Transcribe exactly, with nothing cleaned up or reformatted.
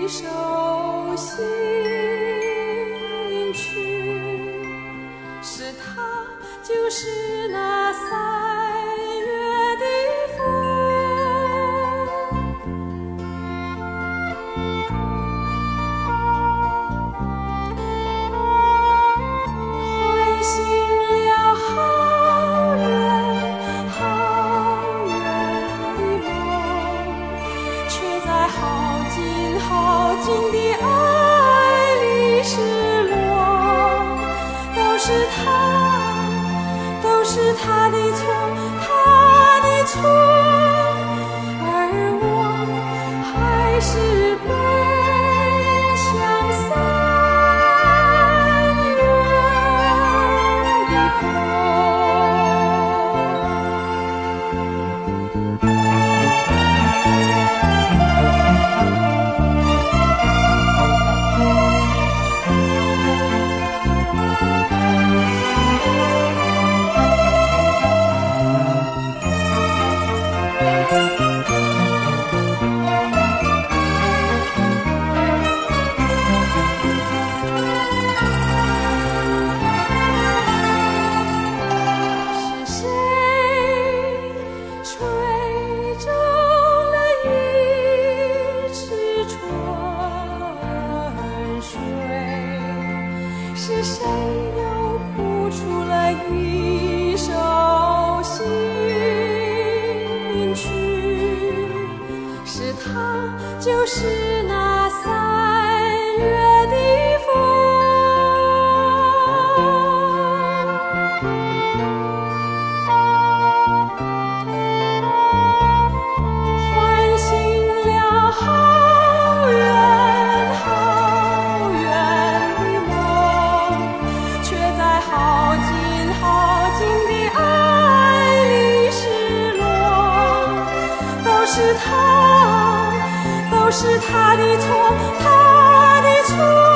一首新曲，是他，就是那三月的风。唤醒了好远好远的梦，却在好近好近的爱里失落。都是他，都是他的错，他的错，而我还是奔向三月的风。是谁又谱出了一首新曲？是他，就是那三月的风。唤醒了好远好远的梦，却在好近好近的爱里失落。都是他，都是他的错，他的错。